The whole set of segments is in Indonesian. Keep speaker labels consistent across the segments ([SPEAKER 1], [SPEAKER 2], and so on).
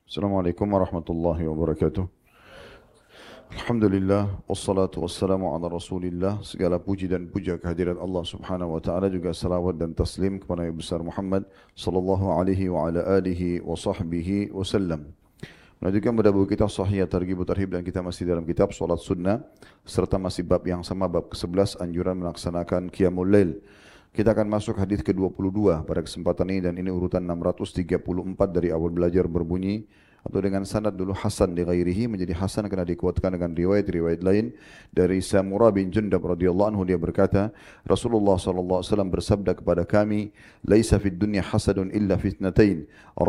[SPEAKER 1] Assalamualaikum warahmatullahi wabarakatuh. Alhamdulillah, wassalatu wassalamu ala rasulillah. Segala puji dan puja kehadirat Allah subhanahu wa ta'ala, juga salawat dan taslim kepada Nabi besar Muhammad sallallahu alaihi wa ala alihi wa sahbihi wasallam. Melanjutkan pada buku kita Sahih Targhib Tarhib, dan kita masih dalam kitab Salat Sunnah, serta masih bab yang sama, bab ke-11, anjuran melaksanakan Qiyamul Lail. Kita akan masuk hadis ke-22 pada kesempatan ini, dan ini urutan 634 dari awal belajar berbunyi, atau dengan sanad dulu hasan li ghairihi, menjadi hasan karena dikuatkan dengan riwayat-riwayat lain. Dari Samurah bin Jundab radhiyallahu anhu, dia berkata, Rasulullah sallallahu alaihi wasallam bersabda kepada kami, "Laisa fid dunya hasadun illa fitnatain.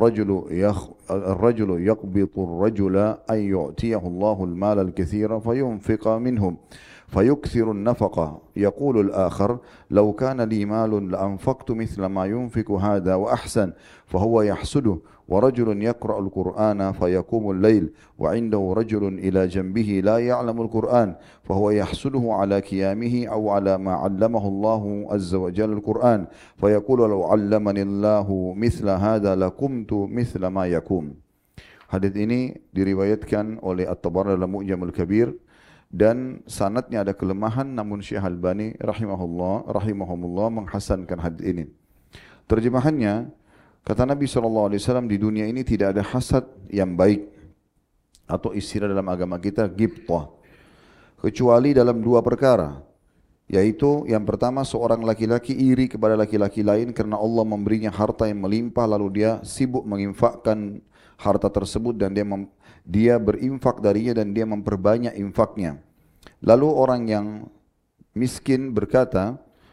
[SPEAKER 1] Ar-rajulu yaqbitu ar-rajula ay yu'tiyahu Allahu al-mala al-katsira fayunfiqa minhum. فيكثر النفقة يقول الآخر لو كان لي مال لأنفقت مثل ما ينفق هذا وأحسن فهو يحسده ورجل يقرأ القرآن فيقوم الليل وعنده رجل إلى جنبه لا يعلم القرآن فهو يحسده على قيامه أو على ما علمه الله عز وجل القرآن فيقول لو علمني الله مثل هذا لقمت مثل ما يقوم." Hadis ini diriwayatkan oleh At-Tabarani dalam Mu'jamul Kabir, dan sanadnya ada kelemahan, namun Syekh Albani rahimahumullah menghasankan hadis ini. Terjemahannya, kata Nabi SAW, di dunia ini tidak ada hasad yang baik, atau istilah dalam agama kita ghibthah, kecuali dalam dua perkara, yaitu yang pertama, seorang laki-laki iri kepada laki-laki lain karena Allah memberinya harta yang melimpah, lalu dia sibuk menginfakkan harta tersebut, dan dia berinfak darinya, dan dia memperbanyak infaknya. Lalu orang yang miskin berkata,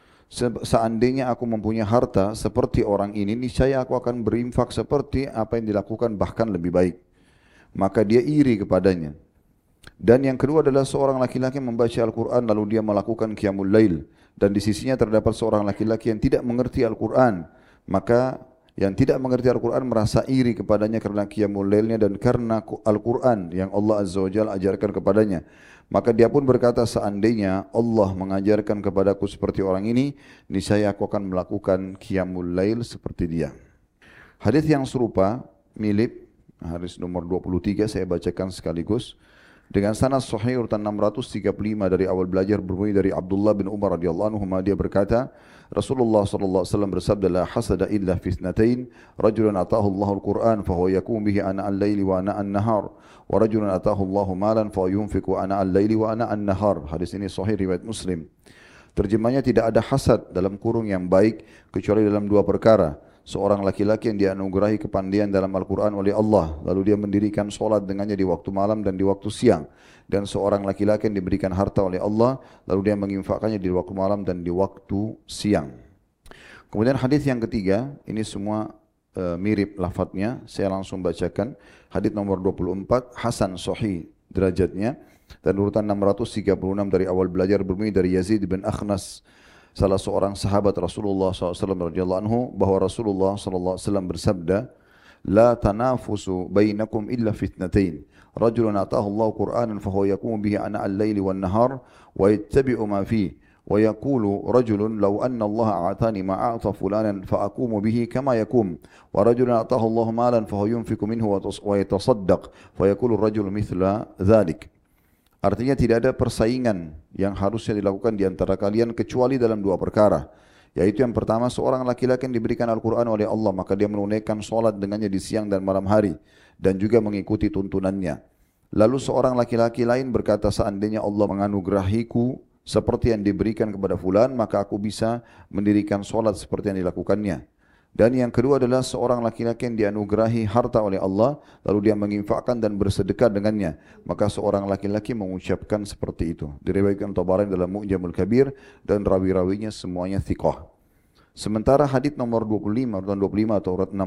[SPEAKER 1] seandainya aku mempunyai harta seperti orang ini, niscaya aku akan berinfak seperti apa yang dilakukan, bahkan lebih baik. Maka dia iri kepadanya. Dan yang kedua adalah seorang laki-laki membaca Al-Quran lalu dia melakukan Qiyamul Lail, dan di sisinya terdapat seorang laki-laki yang tidak mengerti Al-Quran. Maka yang tidak mengerti Al-Quran merasa iri kepadanya karena Qiyamul Lailnya dan karena Al-Quran yang Allah Azza wa Jalla ajarkan kepadanya. Maka dia pun berkata, seandainya Allah mengajarkan kepadaku seperti orang ini, niscaya aku akan melakukan Qiyamul Lail seperti dia. Hadis yang serupa, mirip, hadis nomor 23 saya bacakan sekaligus. Dengan sanad sahih urutan 635 dari awal belajar berbunyi dari Abdullah bin Umar radhiyallahu anhu, dia berkata, Rasulullah sallallahu alaihi wasallam bersabda, la hasada illa fi ithnatain, rajulun atahu Allahu al-Qur'an fa huwa yakum bihi ana al-laili wa ana an-nahar, wa rajulun atahu Allahu malan fa yunfiqu ana al-laili wa ana an-nahar. Hadis ini sahih riwayat Muslim. Terjemahnya, tidak ada hasad dalam kurung yang baik kecuali dalam dua perkara. Seorang laki-laki yang dianugerahi kepandaian dalam Al-Quran oleh Allah, lalu dia mendirikan solat dengannya di waktu malam dan di waktu siang. Dan seorang laki-laki yang diberikan harta oleh Allah, lalu dia menginfakkannya di waktu malam dan di waktu siang. Kemudian hadis yang ketiga, ini semua mirip lafadznya, saya langsung bacakan. Hadis nomor 24, Hasan Sahih derajatnya, dan urutan 636 dari awal belajar berbunyi dari Yazid bin Akhnas, salah seorang sahabat Rasulullah SAW radhiyallahu anhu, bahwa Rasulullah SAW bersabda, la tanafusu bainakum illa fitnatain, rajulun atahu Allah Qur'anan fahuwa yakumu bihi ana al-laili wan nahar wa yattabi'u ma fihi wa yaqulu rajulun law anna Allah a'tani ma a'ta fulanan fa aqumu bihi kama yakum wa rajulun atahu Allah malan fahuwa yunfiqu minhu wa yatasaddaq fa yaqulu ar-rajulu mithla dhalik. Artinya, tidak ada persaingan yang harusnya dilakukan di antara kalian kecuali dalam dua perkara. Yaitu yang pertama, seorang laki-laki yang diberikan Al-Quran oleh Allah, maka dia menunaikan solat dengannya di siang dan malam hari, dan juga mengikuti tuntunannya. Lalu seorang laki-laki lain berkata, seandainya Allah menganugerahiku seperti yang diberikan kepada fulan, maka aku bisa mendirikan solat seperti yang dilakukannya. Dan yang kedua adalah seorang laki-laki yang dianugerahi harta oleh Allah, lalu dia menginfakkan dan bersedekah dengannya, maka seorang laki-laki mengucapkan seperti itu. Diriwayatkan Tabarani dalam Mu'jamul Kabir, dan rawi-rawinya semuanya thiqah. Sementara hadis nomor 25, urutan 25 atau urutan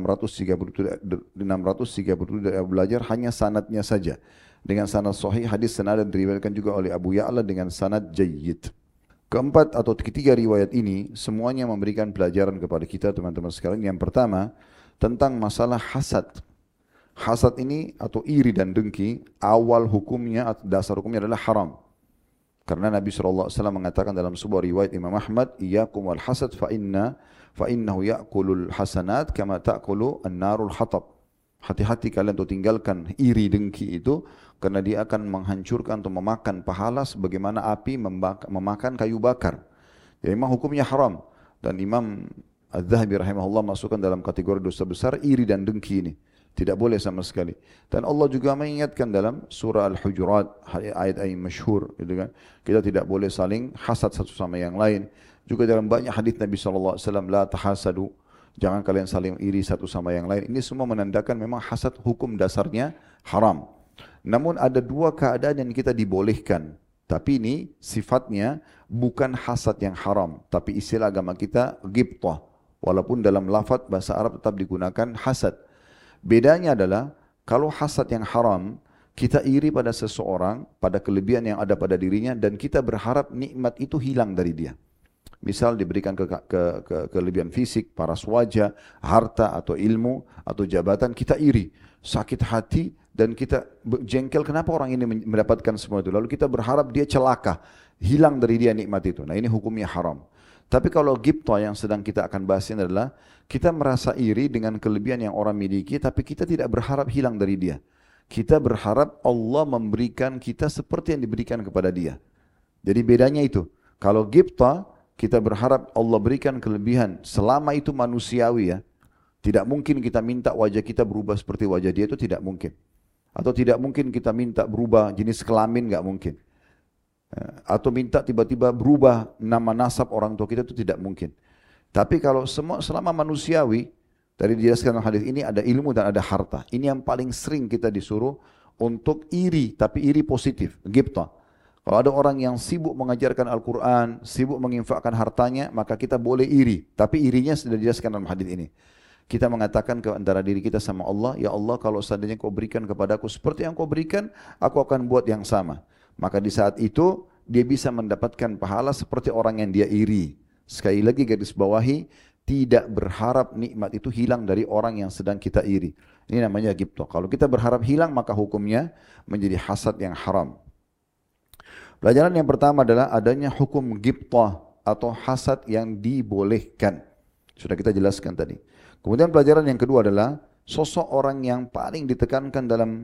[SPEAKER 1] 637 dari belajar hanya sanadnya saja. Dengan sanad sahih, hadis senada diriwayatkan juga oleh Abu Ya'la dengan sanad jayyid. Keempat atau ketiga riwayat ini semuanya memberikan pelajaran kepada kita, teman-teman sekalian. Yang pertama, tentang masalah hasad. Hasad ini atau iri dan dengki, awal hukumnya atau dasar hukumnya adalah haram. Karena Nabi SAW mengatakan dalam sebuah riwayat Imam Ahmad, iyyakum wal hasad fa innahu ya'kulul hasanat kama ta'kulu an-narul hatab. Hati-hati kalian untuk tinggalkan iri dengki itu, karena dia akan menghancurkan atau memakan pahala sebagaimana api memakan kayu bakar. Jadi memang hukumnya haram. Dan Imam Az-Zahabi rahimahullah masukkan dalam kategori dosa besar iri dan dengki ini. Tidak boleh sama sekali. Dan Allah juga mengingatkan dalam surah Al-Hujurat, ayat-ayat masyhur, gitu kan. Kita tidak boleh saling hasad satu sama yang lain. Juga dalam banyak hadis Nabi SAW, la tahasadu, jangan kalian saling iri satu sama yang lain. Ini semua menandakan memang hasad hukum dasarnya haram. Namun ada dua keadaan yang kita dibolehkan. Tapi ini sifatnya bukan hasad yang haram. Tapi istilah agama kita ghibtah. Walaupun dalam lafaz bahasa Arab tetap digunakan hasad. Bedanya adalah kalau hasad yang haram, kita iri pada seseorang, pada kelebihan yang ada pada dirinya, dan kita berharap nikmat itu hilang dari dia. Misal diberikan kelebihan fisik, paras wajah, harta atau ilmu atau jabatan, kita iri, sakit hati dan kita jengkel kenapa orang ini mendapatkan semua itu. Lalu kita berharap dia celaka, hilang dari dia nikmat itu. Nah ini hukumnya haram. Tapi kalau ghibtah yang sedang kita akan bahas ini adalah kita merasa iri dengan kelebihan yang orang miliki, tapi kita tidak berharap hilang dari dia. Kita berharap Allah memberikan kita seperti yang diberikan kepada dia. Jadi bedanya itu. Kalau ghibtah, kita berharap Allah berikan kelebihan selama itu manusiawi ya. Tidak mungkin kita minta wajah kita berubah seperti wajah dia, itu tidak mungkin. Atau tidak mungkin kita minta berubah jenis kelamin, nggak mungkin. Atau minta tiba-tiba berubah nama nasab orang tua kita, itu tidak mungkin. Tapi kalau selama manusiawi, dari dijelaskan dalam hadis ini ada ilmu dan ada harta. Ini yang paling sering kita disuruh untuk iri, tapi iri positif, ghibtah. Kalau ada orang yang sibuk mengajarkan Al-Quran, sibuk menginfakkan hartanya, maka kita boleh iri. Tapi irinya sudah dijelaskan dalam hadis ini. Kita mengatakan ke antara diri kita sama Allah, ya Allah kalau seandainya kau berikan kepadaku seperti yang kau berikan, aku akan buat yang sama. Maka di saat itu, dia bisa mendapatkan pahala seperti orang yang dia iri. Sekali lagi garis bawahi, tidak berharap nikmat itu hilang dari orang yang sedang kita iri. Ini namanya ghibtah. Kalau kita berharap hilang, maka hukumnya menjadi hasad yang haram. Pelajaran yang pertama adalah adanya hukum ghibtah atau hasad yang dibolehkan. Sudah kita jelaskan tadi. Kemudian pelajaran yang kedua adalah sosok orang yang paling ditekankan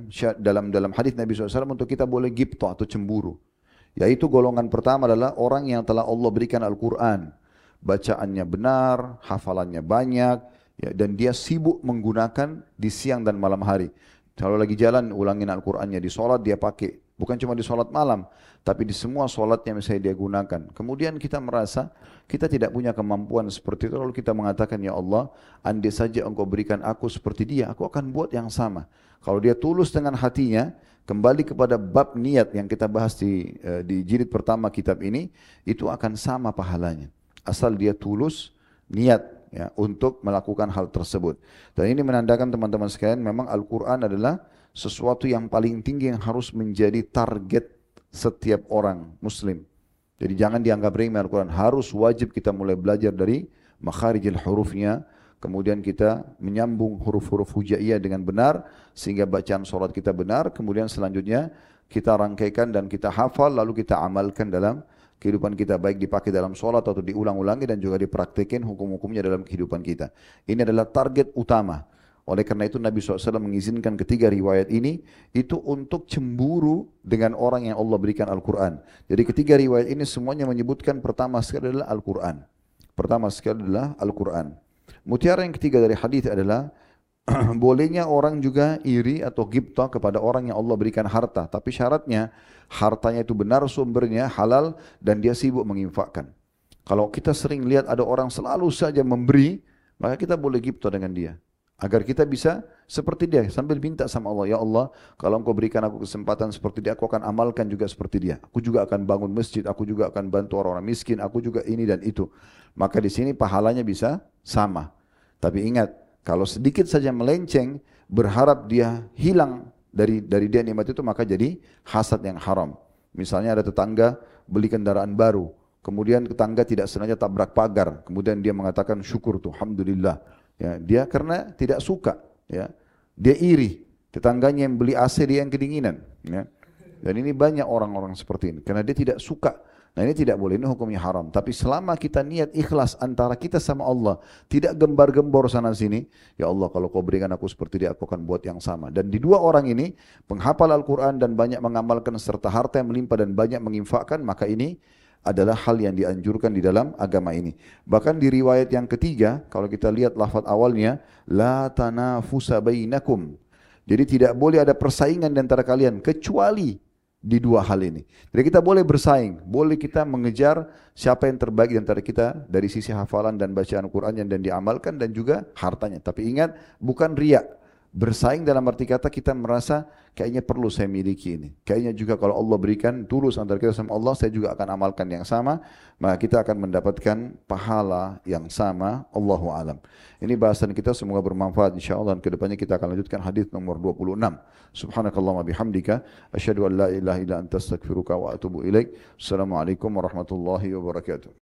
[SPEAKER 1] dalam hadis Nabi SAW untuk kita boleh ghibtah atau cemburu. Yaitu golongan pertama adalah orang yang telah Allah berikan Al-Quran. Bacaannya benar, hafalannya banyak, ya, dan dia sibuk menggunakan di siang dan malam hari. Kalau lagi jalan ulangin Al-Qurannya, di sholat dia pakai. Bukan cuma di sholat malam, tapi di semua sholatnya misalnya dia gunakan. Kemudian kita merasa kita tidak punya kemampuan seperti itu. Lalu kita mengatakan, ya Allah, andai saja engkau berikan aku seperti dia, aku akan buat yang sama. Kalau dia tulus dengan hatinya, kembali kepada bab niat yang kita bahas di jilid pertama kitab ini, itu akan sama pahalanya. Asal dia tulus niat ya, untuk melakukan hal tersebut. Dan ini menandakan teman-teman sekalian, memang Al-Quran adalah sesuatu yang paling tinggi yang harus menjadi target setiap orang muslim. Jadi jangan dianggap remeh Al-Quran. Harus wajib kita mulai belajar dari makharijil hurufnya. Kemudian kita menyambung huruf-huruf hujaiyah dengan benar. Sehingga bacaan sholat kita benar. Kemudian selanjutnya kita rangkaikan dan kita hafal. Lalu kita amalkan dalam kehidupan kita. Baik dipakai dalam sholat atau diulang-ulangi dan juga dipraktekin hukum-hukumnya dalam kehidupan kita. Ini adalah target utama. Oleh karena itu Nabi SAW mengizinkan ketiga riwayat ini itu untuk cemburu dengan orang yang Allah berikan Al-Quran. Jadi ketiga riwayat ini semuanya menyebutkan pertama sekali adalah Al-Quran. Pertama sekali adalah Al-Quran. Mutiara yang ketiga dari hadis adalah bolehnya orang juga iri atau ghibtah kepada orang yang Allah berikan harta. Tapi syaratnya hartanya itu benar sumbernya, halal dan dia sibuk menginfakkan. Kalau kita sering lihat ada orang selalu saja memberi, maka kita boleh ghibtah dengan dia. Agar kita bisa seperti dia sambil minta sama Allah, ya Allah kalau engkau berikan aku kesempatan seperti dia, aku akan amalkan juga seperti dia. Aku juga akan bangun masjid, aku juga akan bantu orang-orang miskin, aku juga ini dan itu. Maka di sini pahalanya bisa sama. Tapi ingat, kalau sedikit saja melenceng, berharap dia hilang dari dia nikmat itu, maka jadi hasad yang haram. Misalnya ada tetangga beli kendaraan baru, kemudian tetangga tidak sengaja tabrak pagar, kemudian dia mengatakan syukur tuh, alhamdulillah. Ya, dia karena tidak suka, ya, dia iri. Tetangganya yang beli AC dia yang kedinginan. Ya. Dan ini banyak orang-orang seperti ini, karena dia tidak suka Nah ini tidak boleh, ini hukumnya haram. Tapi selama kita niat ikhlas antara kita sama Allah, tidak gembar-gembor sana sini, ya Allah kalau kau berikan aku seperti dia, aku akan buat yang sama. Dan di dua orang ini, penghafal Al-Quran dan banyak mengamalkan serta harta yang melimpah dan banyak menginfakkan, maka ini adalah hal yang dianjurkan di dalam agama ini. Bahkan di riwayat yang ketiga, kalau kita lihat lafaz awalnya, la tanafusa bainakum. Jadi tidak boleh ada persaingan di antara kalian, kecuali di dua hal ini. Jadi kita boleh bersaing, boleh kita mengejar siapa yang terbaik di antara kita dari sisi hafalan dan bacaan Quran yang dan diamalkan dan juga hartanya. Tapi ingat, bukan riak. Bersaing dalam arti kata kita merasa kayaknya perlu saya miliki ini. Kayaknya juga kalau Allah berikan tulus antara kita sama Allah, saya juga akan amalkan yang sama, maka kita akan mendapatkan pahala yang sama. Allahu alam. Ini bahasan kita, semoga bermanfaat insyaallah, dan kedepannya kita akan lanjutkan hadis nomor 26. Subhanakallahumma bihamdika asyhadu an la ilaha illa anta astaghfiruka wa atubu ilaik. Assalamualaikum warahmatullahi wabarakatuh.